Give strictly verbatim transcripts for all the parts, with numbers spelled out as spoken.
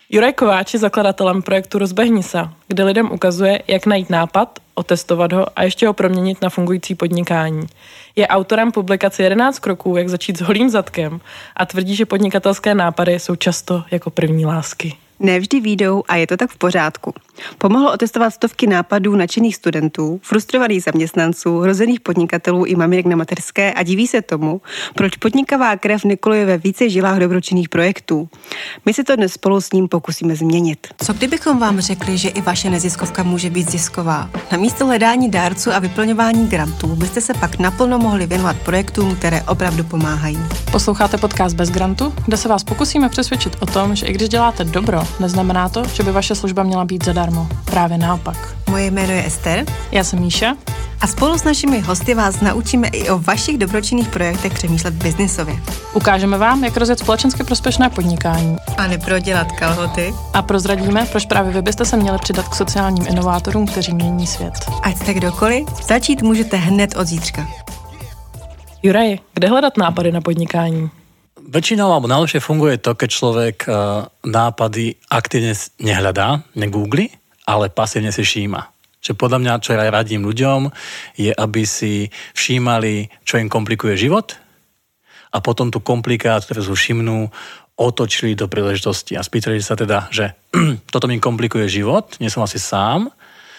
Juraj Kováč je zakladatelem projektu Rozbehni se, kde lidem ukazuje, jak najít nápad, otestovat ho a ještě ho proměnit na fungující podnikání. Je autorem publikace jedenáct kroků, jak začít s holým zadkem a tvrdí, že podnikatelské nápady jsou často jako první lásky. Nevždy výjdou a je to tak v pořádku. Pomohlo otestovat stovky nápadů nadšených studentů, frustrovaných zaměstnanců, hrozených podnikatelů i maminek na mateřské a diví se tomu, proč podnikavá krev nekoluje ve více žilách dobročinných projektů. My si to dnes spolu s ním pokusíme změnit. Co kdybychom vám řekli, že i vaše neziskovka může být zisková? Na místo hledání dárců a vyplňování grantů byste se pak naplno mohli věnovat projektům, které opravdu pomáhají. Posloucháte podcast Bez grantu, kde se vás pokusíme přesvědčit o tom, že i když děláte dobro, neznamená to, že by vaše služba měla být zadarmo. Právě naopak. Moje jméno je Ester. Já jsem Míša. A spolu s našimi hosty vás naučíme i o vašich dobročinných projektech přemýšlet biznisově. Ukážeme vám, jak rozjet společensky prospěšné podnikání. A neprodělat kalhoty. A prozradíme, proč právě vy byste se měli přidat k sociálním inovátorům, kteří mění svět. Ať jste kdokoliv, začít můžete hned od zítřka. Juraj, kde hledat nápady na podnikání? Väčšinou alebo najlepšie funguje to, keď človek nápady aktívne nehľadá, negoogli, ale pasívne si všíma. Čiže podľa mňa, čo ja radím ľuďom, je, aby si všímali, čo im komplikuje život a potom tú komplikáciu, ktorú všimnú, otočili do príležitosti a spýtali sa teda, že toto mi komplikuje život, nie som asi sám,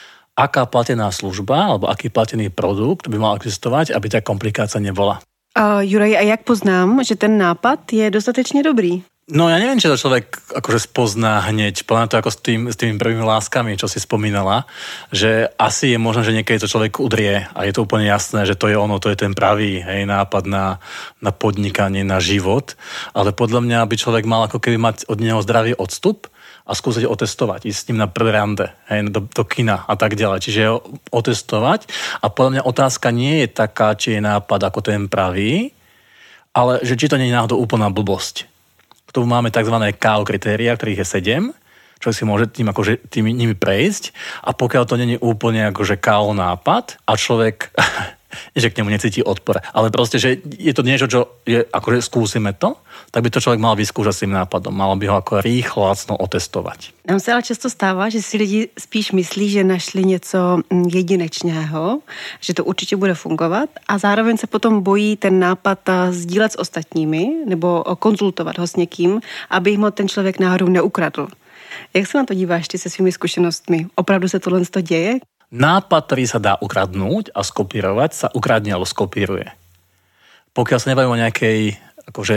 aká platená služba alebo aký platený produkt by mal existovať, aby tá komplikácia nebola. Uh, Juraj, a jak poznám, že ten nápad je dostatečne dobrý? No ja neviem, či to človek akože spozná hneď, plná to ako s, tým, s tými prvými láskami, čo si spomínala, že asi je možné, že niekedy to človek udrie a je to úplne jasné, že to je ono, to je ten pravý hej, nápad na, na podnikanie, na život, ale podľa mňa by človek mal ako keby mať od neho zdravý odstup a skúsiť otestovať, ísť s ním na prvé rande, hej, do, do kina a tak ďalej. Čiže ho otestovať a podľa mňa otázka nie je taká, či je nápad ako ten pravý, ale že či to nie je náhodou úplná blbosť. K tomu máme tzv. ká ó kritéria, ktorých je sedem, človek si môže tým akože, tým, nimi prejsť a pokiaľ to nie je úplne akože ká ó nápad a človek že k nemu necíti odpor, ale proste, že je to niečo, čo je, akože skúsime to, tak by to človek mal vyskúšať s tým nápadom. Malo by ho ako rýchlo, lacno otestovať. Nám se ale často stává, že si lidi spíš myslí, že našli něco jedinečného, že to určitě bude fungovat a zároveň se potom bojí ten nápad sdílet s ostatními nebo konzultovat ho s někým, aby jim ho ten člověk náhodou neukradl. Jak se na to díváš ty se svými zkušenostmi? Opravdu se tohle děje? Nápad, ktorý sa dá ukradnúť a skopírovať, sa ukradne alebo skopíruje. Pokiaľ sa nebavíme o nejakej akože,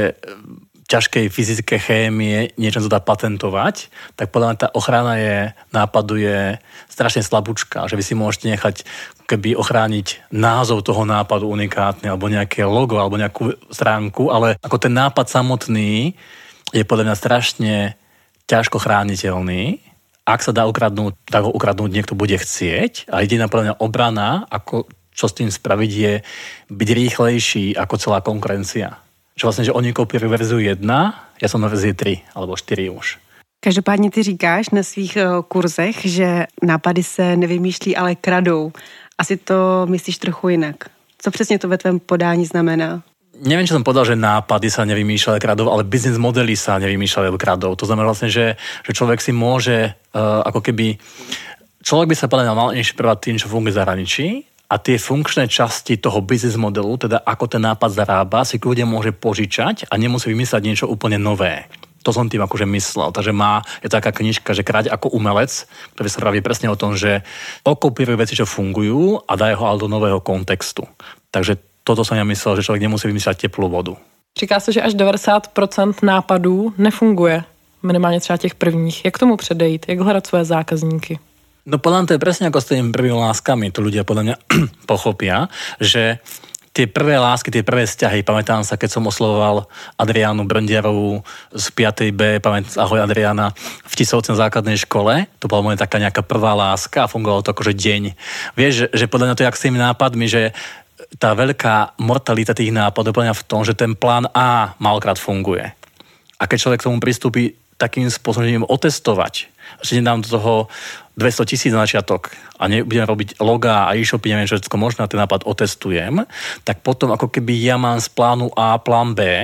ťažkej fyzické chémie, niečo sa dá patentovať, tak podľa mňa tá ochrana je, nápadu je strašne slabúčka, že vy si môžete nechať keby ochrániť názov toho nápadu unikátny, alebo nejaké logo, alebo nejakú stránku, ale ako ten nápad samotný je podľa mňa strašne ťažko chrániteľný. Ak sa dá ukradnúť, tak ho ukradnúť niekto bude chcieť a jediná podľa mňa obrana, ako čo s tým spraviť, je byť rýchlejší ako celá konkurencia. Že vlastne, že oni kopírujú verziu jedna, ja som na verzii tri alebo štyri už. Každopádně ty říkáš na svých kurzech, že nápady se nevymýšlí, ale kradou. Asi to myslíš trochu jinak. Co přesně to ve tvém podání znamená? Neviem, čo som povedal, že nápady sa nevymýšľali kradov, ale business modely sa nevymýšľali kradov. To znamená vlastne, že, že človek si môže uh, ako keby... Človek by sa podľa mňa mal inšpirovať tým, čo funguje v zahraničí a tie funkčné časti toho business modelu, teda ako ten nápad zarába, si ľudia môže požičať a nemusí vymyslieť niečo úplne nové. To som tým akože myslel. Takže má, je taká knižka, že Kráť ako umelec, ktorý sa praví presne o tom, že okopíruje veci, čo fungujú a dajú ho ale do nového kontextu. Takže toto som ja myslel, že človek nemusí vymýšľať teplú vodu. Říká se, že až devadesát procent nápadů nefunguje, minimálně třeba těch prvních. Jak tomu předejít? Jak hledat svoje zákazníky? No podľa mňa to je presne ako s tými prvými láskami. To ľudia podľa mňa pochopia, že tie prvé lásky, tie prvé vzťahy, pamätám sa, keď som oslovoval Adriánu Brndiarovú z piatej bé, pamätám, ahoj Adriána, v Tisovci na základnej škole, to bola moja taká nejaká prvá láska a fungovalo to akože deň. Vieš, že, že podľa mňa to je jak s tými nápadmi, že tá veľká mortalita tých nápadov je v tom, že ten plán A málokrát funguje. A keď človek k tomu pristúpi takým spôsobom, že idem otestovať, že nedám do toho dvesto tisíc na začiatok a nebudem robiť logá a e-shopy, neviem, čo všetko možno, ten nápad otestujem, tak potom ako keby ja mám z plánu A plán B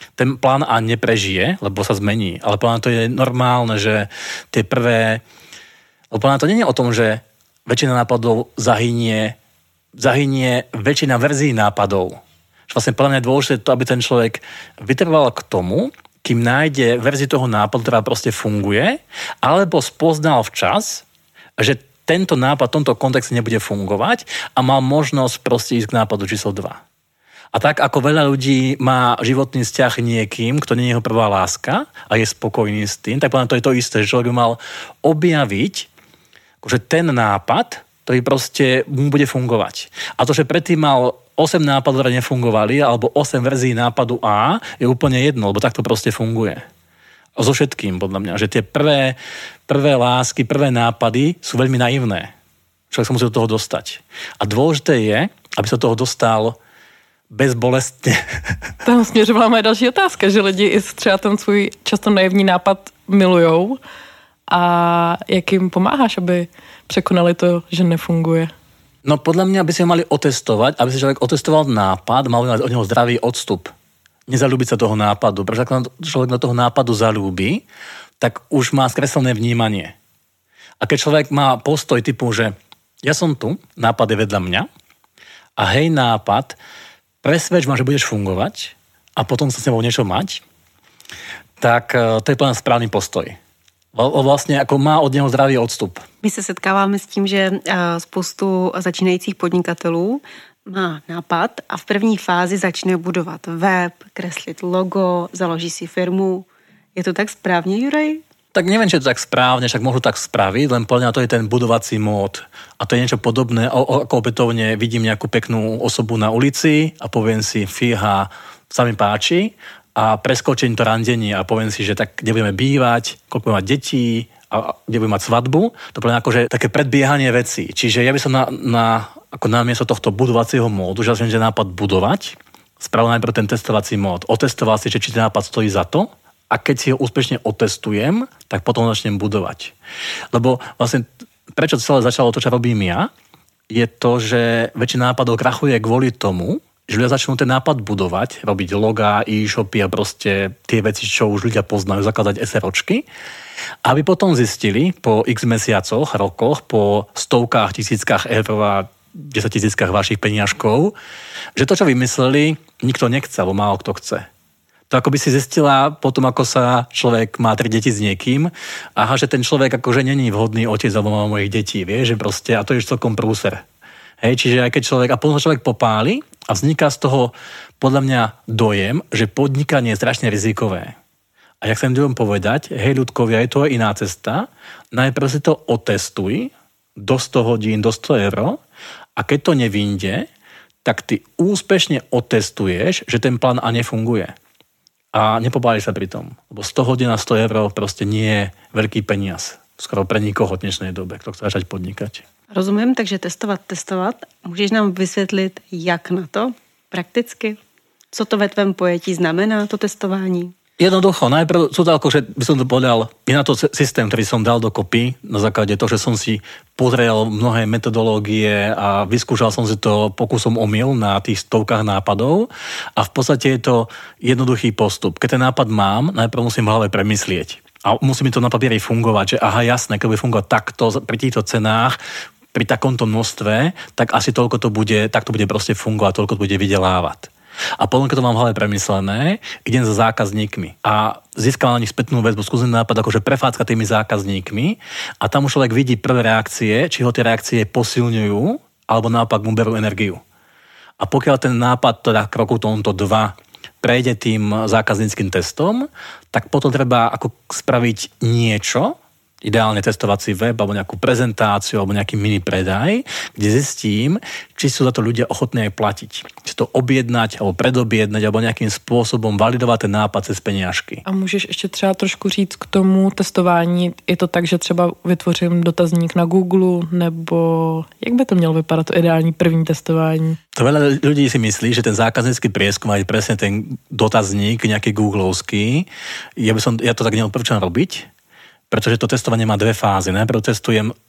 ten plán A neprežije, lebo sa zmení, ale plán to je normálne, že tie prvé, lebo plán to nie je o tom, že väčšina nápadov zahynie, zahynie väčšina verzií nápadov. Vlastne podľa mňa je dôležité to, aby ten človek vytrval k tomu, kým nájde verziu toho nápadu, ktorá proste funguje, alebo spoznal včas, že tento nápad v tomto kontexte nebude fungovať a mal možnosť proste ísť k nápadu číslo dva. A tak ako veľa ľudí má životný vzťah niekým, kto nie je jeho prvá láska a je spokojný s tým, tak podľa to je to isté, že človek by mal objaviť že ten nápad, ktorý proste mu bude fungovať. A to, že predtým mal osem nápadov, ktoré nefungovali, alebo osem verzií nápadu A, je úplne jedno, lebo takto proste funguje. So všetkým, podľa mňa, že tie prvé, prvé lásky, prvé nápady sú veľmi naivné. Človek sa musí do toho dostať. A dôležité je, aby sa do toho dostal bezbolestne. Tam směřovala moje další otázka, že lidi i třeba ten svůj často naivní nápad milujou a jak jim pomáháš, aby překonali to, že nefunguje? No podľa mňa by si ho mali otestovať, aby si človek otestoval nápad, mal by mať od neho zdravý odstup. Nezalúbiť sa toho nápadu. Pretože ak človek do toho nápadu zalúbi, tak už má skreslené vnímanie. A keď človek má postoj typu, že ja som tu, nápad je vedľa mňa a hej nápad, presvedč ma, že budeš fungovať a potom sa s nebou niečo mať, tak to je plný správny postoj. Vlastně jako má od něho zdravý odstup. My se setkáváme s tím, že spoustu začínajících podnikatelů má nápad a v první fázi začne budovat web, kreslit logo, založí si firmu. Je to tak správně, Juraj? Tak neviem, či je to tak správne, však môžu tak spraviť, len podľa mňa to je ten budovací mód. A to je niečo podobné, ako opätovne vidím nejakú peknú osobu na ulici a poviem si, fíha, sa mi páči a preskočím to randenie a poviem si, že tak kde budeme bývať, koľko budeme mať detí a kde budeme mať svadbu. To je akože také predbiehanie vecí. Čiže ja by som na, na, ako namiesto tohto budovacieho módu, že že nápad budovať, spravil najprv ten testovací mód. Otestoval si, že či ten nápad stojí za to. A keď si ho úspešne otestujem, tak potom začnem budovať. Lebo vlastne, prečo celé začalo to, čo robím ja, je to, že väčšina nápadov krachuje kvôli tomu, že ľudia začnú ten nápad budovať, robiť logá, e-shopy a proste tie veci, čo už ľudia poznajú, zakladať SROčky, aby potom zistili po x mesiacoch, rokoch, po stovkách, tisíckach eur a desaťtisíckach vašich peniažkov, že to, čo vymysleli, nikto nechce, alebo málo kto chce. To ako by si zistila potom, ako sa človek má tri deti s niekým, aha, že ten človek akože není vhodný otec alebo má mojich detí, vie, že proste, a to je celkom prúser. Hej, čiže aj keď človek, a potom človek popáli a vzniká z toho podľa mňa dojem, že podnikanie je strašne rizikové. A jak sa im dovolím povedať, hej ľudkovia, je to iná cesta, najprv si to otestuj do sto hodín, do sto eur a keď to nevinde, tak ty úspešne otestuješ, že ten plán A nefunguje. A nepobáli sa pri tom. Lebo sto hodín a sto eur proste nie je veľký peniaz. Skoro pre nikoho v dnešnej dobe, kto chce začať podnikať. Rozumím, takže testovat, testovat. Můžeš nám vysvětlit, jak na to prakticky? Co to ve tvém pojetí znamená, to testování? Jednoducho, najprv sú to ako, že by som to povedal, je na to systém, ktorý som dal dokopy na základe toho, že som si pozrel mnohé metodológie a vyskúšal som si to pokusom omyl na tých stovkách nápadov a v podstate je to jednoduchý postup. Keď ten nápad mám, najprv musím v hlave premyslieť a musí mi to na papieri fungovať, že aha, jasné, keď bude fungovať takto pri týchto cenách, pri takomto množstve, tak asi toľko to bude, tak to bude proste fungovať, toľko to bude vydelávať. A potom, keď to mám v hlave premyslené, idem za zákazníkmi a získam na nich spätnú väzbu, skúsim nápad akože prefácka tými zákazníkmi a tam už človek vidí prvé reakcie, či ho tie reakcie posilňujú, alebo naopak mu berú energiu. A pokiaľ ten nápad, teda kroku tomto dva, prejde tým zákazníckým testom, tak potom treba ako spraviť niečo, ideálne testovací web, alebo nejakú prezentáciu, alebo nejaký mini predaj, kde zistím, či sú za to ľudia ochotní aj platiť. Či to objednať, alebo predobjednať, alebo nejakým spôsobom validovať ten nápad cez peniažky. A můžeš ještě třeba trošku říct k tomu testování, je to tak, že třeba vytvořím dotazník na Google, nebo jak by to mělo vypadat, to ideální první testování? To veľa ľudí si myslí, že ten zákaznícky prieskum je presne ten dotazník, nejaký googlovský. Ja, by som, ja to tak neodporúčam robiť, pretože to testovanie má dve fázy. Najprv testujem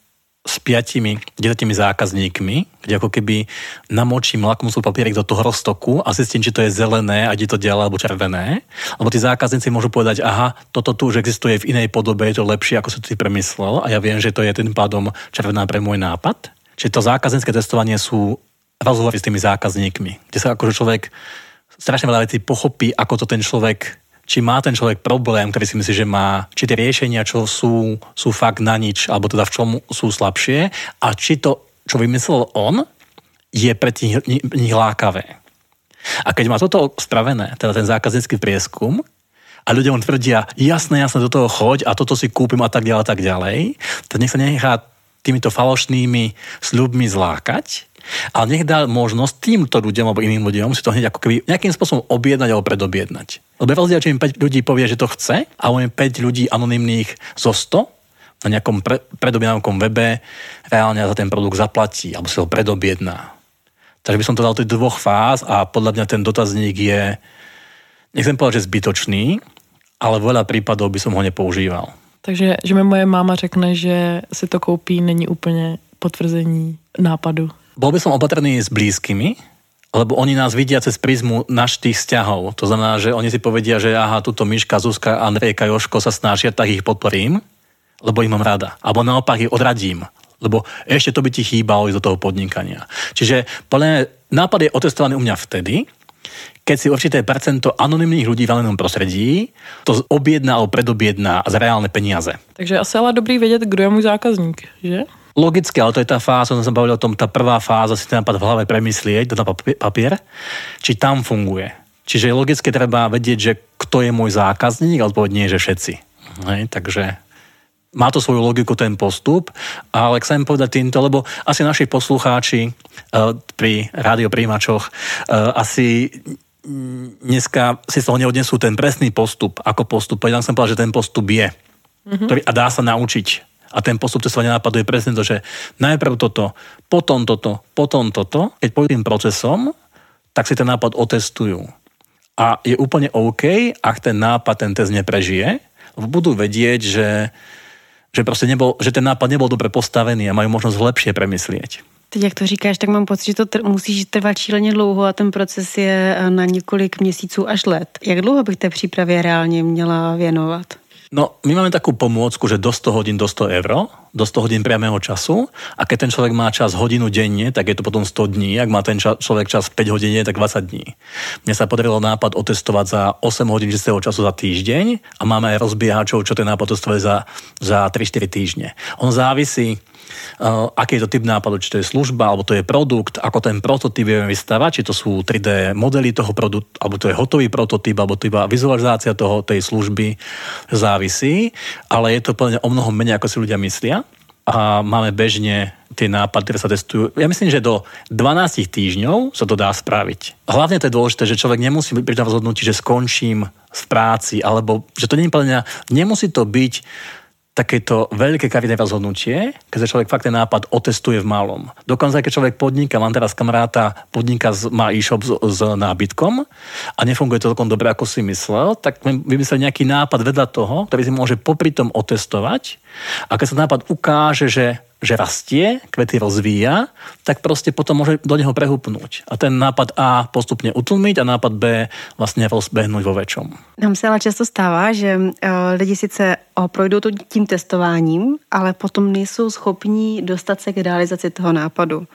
s piatimi, desetimi zákazníkmi, kde ako keby namočím lakmusový papierik do toho roztoku a zistím, či to je zelené a či to ďalej alebo červené. Lebo tí zákazníci môžu povedať, aha, toto tu už existuje v inej podobe, je to lepšie, ako si ty premyslel a ja viem, že to je tým pádom červená pre môj nápad. Čiže to zákaznícke testovanie sú rozhovory s tými zákazníkmi, kde sa akože človek strašne veľa vecí pochopí, ako to ten človek, či má ten človek problém, ktorý si myslí, že má, či tie riešenia, čo sú, sú fakt na nič, alebo teda v čom sú slabšie, a či to, čo vymyslel on, je pre tých nich lákavé. A keď má toto spravené, teda ten zákaznícky prieskum, a ľudia mu tvrdia, jasné, jasné, do toho choď a toto si kúpim a tak ďalej, a tak ďalej, tak nech sa nechá týmito falošnými sľubmi zlákať, ale nech dá možnosť týmto ľuďom alebo iným ľuďom si to hneď ako keby nejakým spôsobom objednať alebo predobjednať. Lebo je rozdiel, či im päť ľudí povie, že to chce, a im päť ľudí anonymných zo sto na nejakom pre, predobjednávkom webe reálne za ten produkt zaplatí alebo si ho predobjedná. Takže by som to dal do dvoch fáz a podľa mňa ten dotazník je, nechcem povedať, že zbytočný, ale veľa prípadov by som ho nepoužíval. Takže, že mi moje máma řekne, že si to koupí, není úplně potvrzení nápadu. Bol by som opatrný s blízkymi, lebo oni nás vidia cez prízmu našich vzťahov. To znamená, že oni si povedia, že aha, tuto Miška, Zuzka, Andrejka, Jožko sa snažia, tak ich podporím, lebo ich mám rada. Alebo naopak ich odradím, lebo ešte to by ti chýbalo ísť do toho podnikania. Čiže podľa mňa nápad je otestovaný u mňa vtedy, keď si určité percento anonymných ľudí v anonymnom prostredí to objedná alebo predobjedná za reálne peniaze. Takže asi ale dobrý vedieť, kdo je môj zákazník, že? Logicky, ale to je tá fáza, som sa bavil o tom, tá prvá fáza si ten nápad v hlave premyslieť, dať na papier, či tam funguje. Čiže logicky treba vedieť, že kto je môj zákazník, ale povedať nie, že všetci. Hej, takže má to svoju logiku ten postup, ale chcem povedať týmto, lebo asi naši poslucháči uh, pri rádiopríjimačoch uh, asi dneska si z toho neodnesú ten presný postup, ako postup. Ja som povedal, že ten postup je, mm-hmm. ktorý, a dá sa naučiť. A ten postup testovania nápadu je presne to, že najprv toto, potom toto, potom toto. Keď pôjdu tým procesom, tak si ten nápad otestujú. A je úplne OK, ak ten nápad, ten test neprežije, lebo budú vedieť, že, že, proste nebol, že ten nápad nebol dobre postavený a majú možnosť lepšie premyslieť. Teď, jak to říkáš, tak mám pocit, že to tr- musíš trvat šíleně dlouho a ten proces je na několik měsíců až let. Jak dlouho bych té přípravě reálně měla věnovat? No, my máme takú pomôcku, že do sto hodín do sto eur, do sto hodín priamého času, a keď ten človek má čas hodinu denne, tak je to potom sto dní, ak má ten ča- človek čas päť hodín, tak dvadsať dní. Mne sa podarilo nápad otestovať za osem hodín čistého času za týždeň a máme aj rozbiehačov, čo ten nápad testovali za, za tri štyri týždne. On závisí, Uh, aký je to typ nápadu, či to je služba, alebo to je produkt, ako ten prototyp vieme vystavať, či to sú tri dé modely toho produktu, alebo to je hotový prototyp, alebo to iba vizualizácia toho, tej služby, závisí, ale je to plne o mnoho menej, ako si ľudia myslia, a máme bežne tie nápady, ktoré sa testujú. Ja myslím, že do dvanásť týždňov sa to dá spraviť. Hlavne to je dôležité, že človek nemusí byť pri tom rozhodnutí, že skončím v práci, alebo že to nie je plne, nemusí to byť takéto veľké kariérne rozhodnutie, keď sa človek fakt ten nápad otestuje v malom. Dokonca, keď človek podniká, mám teraz kamaráta, podniká, má e-shop s, s nábytkom a nefunguje to celkom dobre, ako si myslel, tak vymyslel nejaký nápad vedľa toho, ktorý si môže popri tom otestovať, a keď sa nápad ukáže, že že rastie, kvety rozvíja, tak proste potom môže do neho prehupnúť. A ten nápad A postupne utlmiť a nápad B vlastne rozbehnúť vo väčšom. Nám se ale často stává, že lidi sice projdou tím testováním, ale potom nejsou schopní dostat se k realizaci toho nápadu,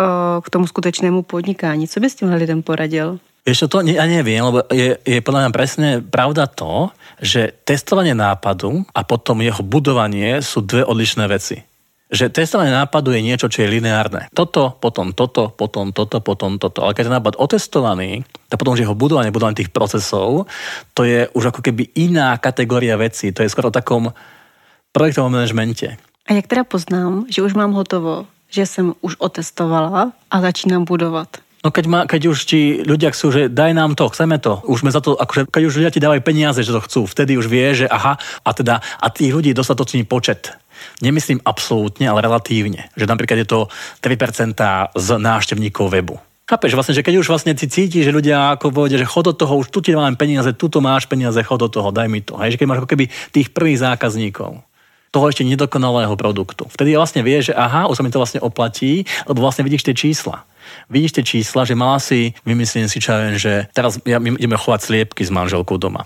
k tomu skutečnému podnikání. Co by s tímhle lidem poradil? Ešte to ja neviem, lebo je, je podľa mňa presne pravda to, že testovanie nápadu a potom jeho budovanie sú dve odlišné veci. Že testovanie nápadu je niečo, čo je lineárne. Toto, potom toto, potom toto, potom toto. Ale keď je nápad otestovaný, tak potom, že jeho budovanie, budovanie tých procesov, to je už ako keby iná kategória vecí. To je skoro o takom projektovom manažmente. A jak teda poznám, že už mám hotovo, že som už otestovala a začínam budovať? No keď, má, keď už ti ľudia chcú, že daj nám to, chceme to, už sme za to, akože keď už ľudia ti dávajú peniaze, že to chcú, vtedy už vie, že aha, a teda, a tých ľudí dostatočný počet. Nemyslím absolútne, ale relatívne. Že napríklad je to tri percentá z návštevníkov webu. Chápeš, vlastne, že keď už vlastne si cítiš, že ľudia ako povedia, že chod do toho, už tu ti dávam peniaze, tu to máš peniaze, chod do toho, daj mi to. Hej, že keď máš ako keby tých prvých zákazníkov. toho ešte nedokonalého produktu. Vtedy vlastne vieš, že aha, už sa mi to vlastne oplatí, lebo vlastne vidíš tie čísla. Vidíš tie čísla, že mala si, vymyslím si, čo ja viem, že teraz ja, my ideme chovať sliepky s manželkou doma.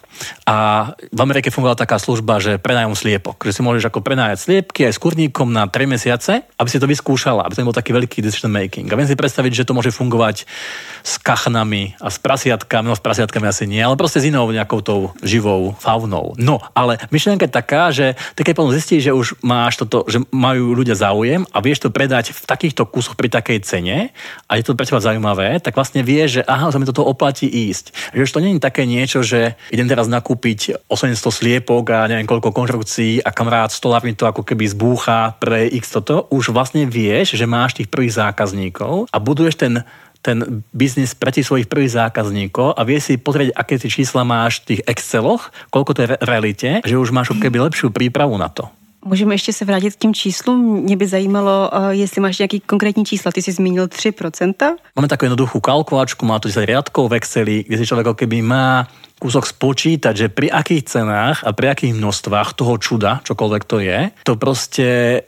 A v Amerike fungovala taká služba, že prenájom sliepok. Že si môžeš ako prenájať sliepky aj s kurníkom na tri mesiace, aby si to vyskúšala, aby to nebol taký veľký decision making. A viem si predstaviť, že to môže fungovať s kachnami a s prasiatkami, no s prasiatkami asi nie, ale proste s inou nejakou tou živou faunou. No, ale myšlienka je taká, že ty keď potom zistíš, že už máš toto, že majú ľudia záujem a vieš to predať v takýchto kusoch pri takej cene, a je to pre teba zaujímavé, tak vlastne vieš, že aha, sa mi toto oplatí ísť. Že už to nie je také niečo, že idem teraz nakúpiť osemsto sliepok a neviem koľko konštrukcií a kamarát stolár mi to ako keby zbúcha pre x toto. Už vlastne vieš, že máš tých prvých zákazníkov a buduješ ten ten biznis pre tých svojich prvých zákazníkov a vieš si pozrieť, aké tie čísla máš v tých Exceloch, koľko to je v realite, že už máš keby lepšiu prípravu na to. Můžeme ještě se vrátit k těm číslům. Mě by zajímalo, jestli máš nějaký konkrétní čísla. Ty jsi zmínil tři procenta. Máme takú jednoduchú kalkulačku, má to desať riadkov v Exceli, kde si človek keby má kúsok spočítať, že pri akých cenách a pri akých množstvách toho čuda, čokoľvek to je, to proste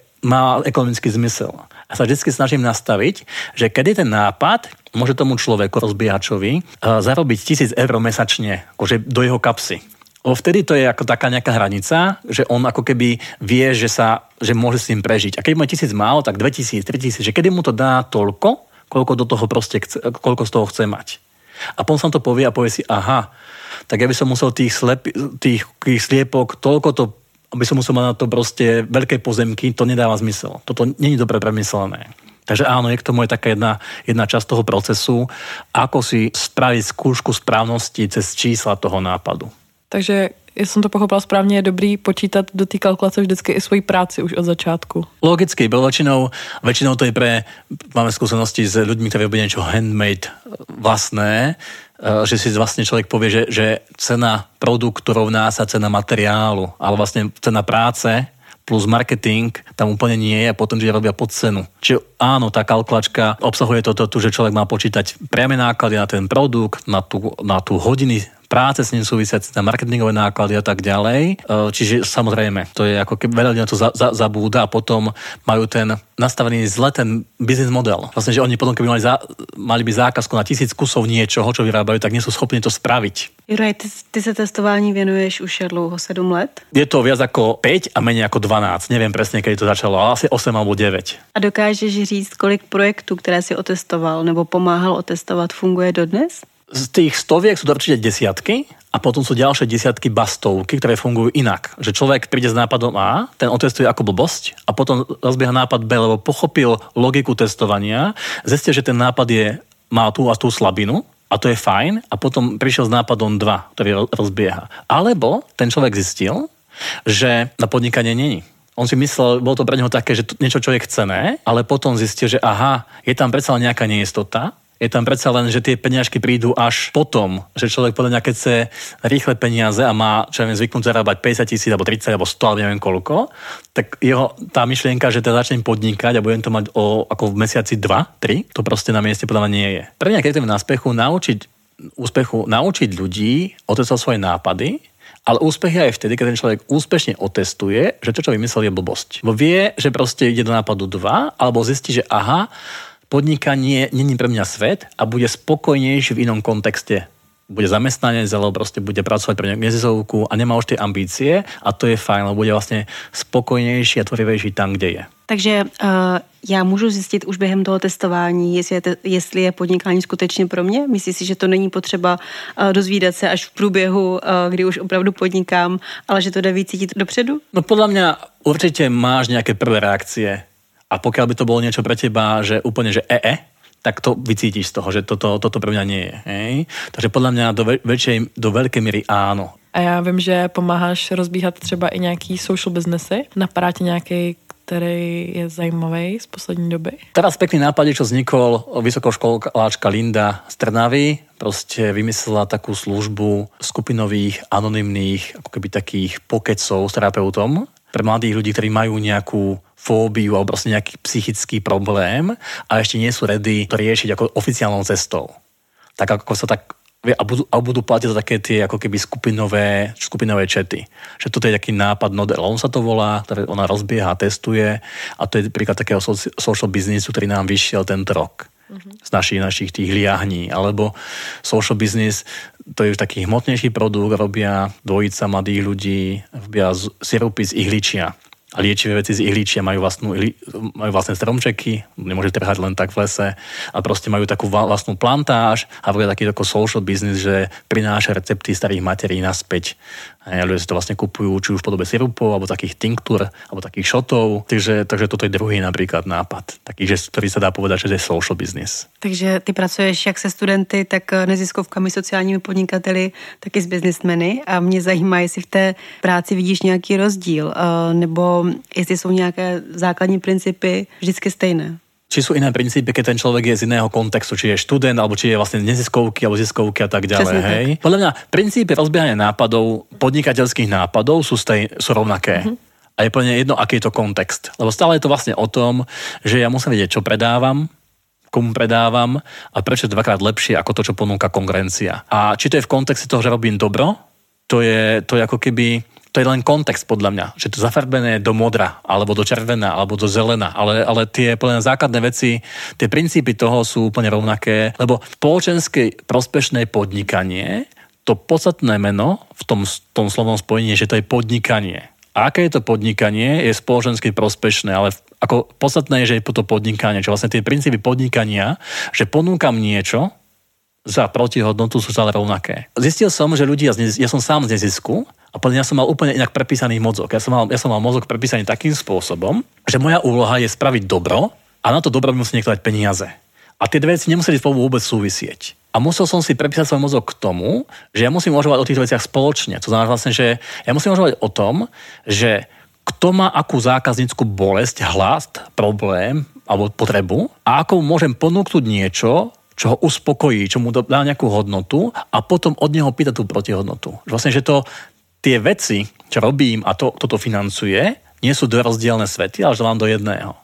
má ekonomický zmysel. A sa vždy snažím nastaviť, že kedy ten nápad môže tomu človeku, rozbiehačovi, zarobiť tisíc eur mesačne, akože do jeho kapsy. O vtedy to je ako taká nejaká hranica, že on ako keby vie, že, sa, že môže s tým prežiť. A keď mu je tisíc málo, tak dvetisíc, tritisíc, že kedy mu to dá toľko, koľko do toho proste chce, koľko z toho chce mať. A potom sa to povie a povie si, aha, tak ja by som musel tých, slep, tých, tých sliepok toľko to, aby som musel mať na to proste veľké pozemky, to nedáva zmysel. Toto nie je dobre premyslené. Takže áno, je k tomu je taká jedna, jedna časť toho procesu, ako si spraviť skúšku správnosti cez čísla toho nápadu. Takže, jestli jsem to pochopila správně, je dobrý počítat do té kalkulace vždycky i svoji práci už od začátku. Logicky, bylo väčšinou, väčšinou to je pre, máme skúsenosti s ľuďmi, ktorí robia niečo handmade vlastné, že si vlastne človek povie, že, že cena produktu rovná sa cena materiálu, ale vlastne cena práce plus marketing tam úplne nie je a potom, že robia pod cenu. Čiže áno, tá kalkulačka obsahuje toto, to, že človek má počítať priame náklady na ten produkt, na tú, na tú hodiny práce s ním súvisiaci, na marketingové náklady a tak ďalej. Čiže samozrejme, to je ako keby veľa ľudí na to za, za, zabúda a potom majú ten nastavený zle ten business model. Vlastne, že oni potom, keby mali, za, mali by zákazku na tisíc kusov niečoho, čo vyrábajú, tak nie sú schopní to spraviť. Juraj, ty, ty sa testování venuješ už dlouho, sedm let? Je to viac ako päť a menej ako dvanásť. Neviem presne, kedy to začalo, ale asi osem alebo deväť. A dokážeš říct, kolik projektů, které si otestoval nebo pomáhal otestovat, funguje dodnes? Z tých stoviek sú to určite desiatky a potom sú ďalšie desiatky bastovky, ktoré fungujú inak. Že človek príde s nápadom A, ten otestuje ako blbosť a potom rozbieha nápad B, lebo pochopil logiku testovania, zistil, že ten nápad je, má tú a tú slabinu a to je fajn a potom prišiel s nápadom dva, ktorý rozbieha. Alebo ten človek zistil, že na podnikanie není. On si myslel, bolo to pre neho také, že to niečo, čo je chcené, ale potom zistil, že aha, je tam predsa len nejaká neistota. Je tam predsa len, že tie peniažky prídu až potom, že človek podľa mňa, keď chce rýchle peniaze a má, čo ja viem, zvyknúť zarábať päťdesiat tisíc, alebo tridsať, alebo sto, alebo neviem koľko, tak jeho tá myšlienka, že teda začnem podnikať a budem to mať o, ako v mesiaci dva, tri, to proste na mieste podľa mňa nie je. Pre mňa, keď chcem na úspechu naučiť, úspechu naučiť ľudí otestovať svoje nápady, ale úspech je aj vtedy, keď ten človek úspešne otestuje, že to, čo vymyslel, je blbosť. Bo vie, že proste ide do nápadu dva, alebo zistí, že aha, podnikanie není pre mňa svet a bude spokojnejší v inom kontexte. Bude zamestnanec, alebo proste bude pracovať pre nejakú neziskovku a nemá už tie ambície a to je fajn, lebo bude vlastne spokojnejší a tvorivejší tam, kde je. Takže uh, já můžu zjistit už během toho testování, jestli je, te, jestli je podnikání skutečně pro mě? Myslíš si, že to není potřeba uh, dozvídat se až v průběhu, uh, kdy už opravdu podnikám, ale že to jde víc cítit dopředu? No podľa mňa určite máš nejaké prvé reakcie. A pokiaľ by to bolo niečo pre teba, že úplne, že e-e, tak to vycítiš z toho, že toto, toto pre mňa nie je. Hej? Takže podľa mňa do, väčšej, do veľkej míry áno. A já vím, že pomáháš rozbíhat třeba i nějaký social businessy. Napadá ti nějaký, který je zajímavý z poslední doby? Teraz pekný nápad, čo vznikol, vysokoškoláčka Linda z Trnavy, proste vymyslela takú službu skupinových, anonymných, ako keby takých pokecov s terapeutom pre mladých ľudí, ktorí majú nejakú fóbiu alebo proste nejaký psychický problém a ešte nie sú ready to riešiť ako oficiálnou cestou. Tak ako sa tak a budú, a budú platiť za také tie ako keby skupinové, skupinové čety. Že toto je taký nápad Nodel, on sa to volá, ktoré ona rozbieha, testuje a to je príklad takého social businessu, ktorý nám vyšiel tento rok. Z našich, našich tých liahní, alebo social business, to je už taký hmotnejší produkt, robia dvojica mladých ľudí, robia sirupy z ihličia a liečivé veci z ihličia, majú, vlastnú, majú vlastné stromčeky, nemôže trhať len tak v lese a proste majú takú vlastnú plantáž a robia taký tako social business, že prináša recepty starých materí naspäť. A ľudia si to vlastne kupujú, či už v podobe sirupov, alebo takých tinktúr, alebo takých šotov. Takže, takže toto je druhý napríklad nápad, taký, že, ktorý sa dá povedať, že je social business. Takže ty pracuješ jak se studenty, tak neziskovkami, sociálními podnikateli, tak i s businessmeny a mě zajímá, jestli v té práci vidíš nějaký rozdíl, nebo jestli jsou nějaké základní principy vždycky stejné. Či sú iné princípy, keď ten človek je z iného kontextu, či je študent, alebo či je vlastne neziskovky, alebo ziskovky a tak ďalej. Hej. Tak. Podľa mňa princípy rozbiehania nápadov, podnikateľských nápadov sú, stej, sú rovnaké. Mm-hmm. A je plne jedno, aký je to kontext. Lebo stále je to vlastne o tom, že ja musím vedieť, čo predávam, komu predávam a prečo je dvakrát lepšie ako to, čo ponúka konkurencia. A či to je v kontexte toho, že robím dobro, to je, to je ako keby... To je len kontext podľa mňa, že to zafarbené do modra, alebo do červená, alebo do zelená, ale, ale tie plne základné veci, tie princípy toho sú úplne rovnaké, lebo spoločenské prospešné podnikanie, to podstatné meno v tom, tom slovom spojení je, že to je podnikanie. A aké je to podnikanie, je spoločensky prospešné, ale ako podstatné je, že je to podnikanie, čo vlastne tie princípy podnikania, že ponúkam niečo za protihodnotu sú stále rovnaké. Zistil som, že ľudia, ja som sám z nezisku, a ja som mal úplne inak prepísaný mozog. Ja som mal, ja som mal mozog prepísaný takým spôsobom, že moja úloha je spraviť dobro a na to dobro musí niekto dať peniaze. A tie dve veci nemuseli spolu vôbec súvisieť. A musel som si prepísať svoj mozog k tomu, že ja musím uvažovať o týchto veciach spoločne. To znamená vlastne, že ja musím uvažovať o tom, že kto má akú zákaznícku bolesť, hlast, problém alebo potrebu a ako môžem ponúknuť niečo, čo ho uspokojí, čo mu dá nejakú hodnotu a potom od neho pýta tú protihodnotu. Vlastne, že to tie veci, čo robím a to, toto financuje, nie sú dve rozdielne svety, ale že vám do jedného.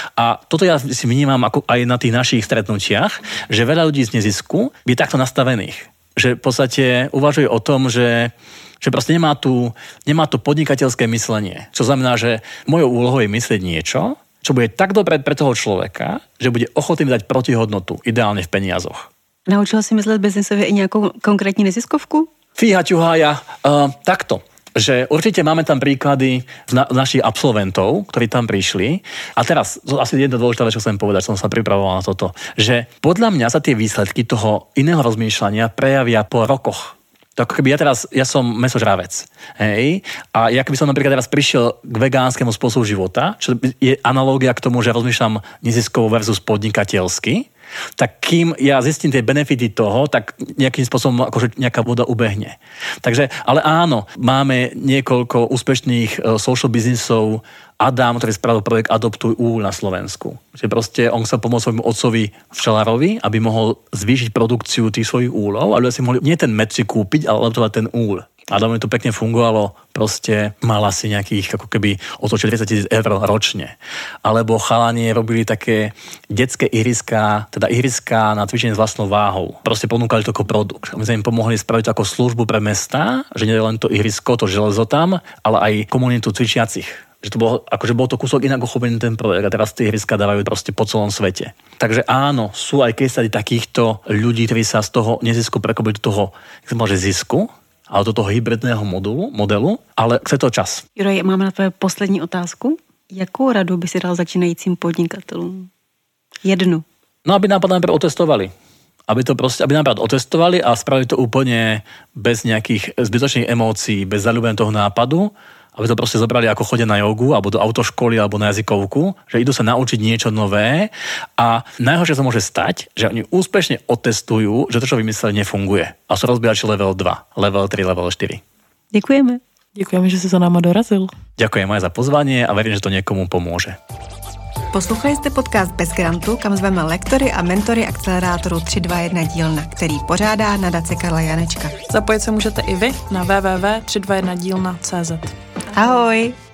A toto ja si vnímam ako aj na tých našich stretnutiach, že veľa ľudí z nezisku je takto nastavených. Že v podstate uvažuje o tom, že, že proste nemá tu, nemá tu podnikateľské myslenie. Čo znamená, že mojou úlohou je myslieť niečo, čo bude tak dobré pre toho človeka, že bude ochotný dať protihodnotu, ideálne v peniazoch. Naučil si myslet biznisově i nějakou konkrétní neziskovku? Fíha, ťuhája, uh, takto, že určite máme tam príklady z na, našich absolventov, ktorí tam prišli. A teraz, to asi jedna dôležitá vec, čo chcem povedať, som sa pripravoval na toto, že podľa mňa sa tie výsledky toho iného rozmýšľania prejavia po rokoch. To ako keby ja teraz, ja som mäsožravec, hej, a ja keby som napríklad teraz prišiel k vegánskemu spôsobu života, čo je analógia k tomu, že rozmýšľam neziskovo versus podnikateľsky, tak kým ja zistím tie benefity toho, tak nejakým spôsobom akože nejaká voda ubehne. Takže, ale áno, máme niekoľko úspešných social businessov. Adam, ktorý spravil projekt Adoptuj úl na Slovensku. Že proste on chcel pomôcť svojmu otcovi včelárovi, aby mohol zvýšiť produkciu tých svojich úlov, ale si mohli nie ten med si kúpiť, ale adoptovať ten úl. Adamovi to pekne fungovalo, proste mal asi nejakých ako keby otočil tridsať tisíc eur ročne. Alebo chalani robili také detské ihriská, teda ihriská na cvičenie s vlastnou váhou. Proste ponúkali to ako produkt. My sme im pomohli spraviť to ako službu pre mestá, že nie len to ihrisko, to železo tam, ale aj komunitu cvičiacich. Že to bolo, akože bol to kúsok inak uchopený ten projekt a teraz tie ihriska dávajú proste po celom svete. Takže áno, sú aj keď takýchto ľudí, ktorí sa z toho nezisku prekopili do toho, jak som povedal, že zisku, ale do toho hybridného modulu, modelu, ale chce to čas. Juro, mám na tvoje poslední otázku. Jakou radu by si dal začínajícím podnikatelům? Jednu. No, aby nápad najprv otestovali. Aby to proste, aby napríklad otestovali a spravili to úplne bez nejakých zbytočných emócií, bez zaľúbenia toho nápadu, aby to proste zobrali ako chodia na jogu, alebo do autoškoly, alebo na jazykovku, že idú sa naučiť niečo nové a najhoršie sa môže stať, že oni úspešne otestujú, že to, čo vymysleli, nefunguje. A sú rozbíjači level dva, level tri, level štyri. Děkujeme. Děkujeme, že si za náma dorazil. Ďakujem aj za pozvanie a verím, že to niekomu pomôže. Poslouchali jste podcast Bez grantu, kam zveme lektory a mentory akcelerátoru tři dva jedna dílna, který pořádá nadace Karla Janečka. Zapojit se můžete i vy na w w w tečka tři dva jedna dílna tečka cé zet. Ahoj!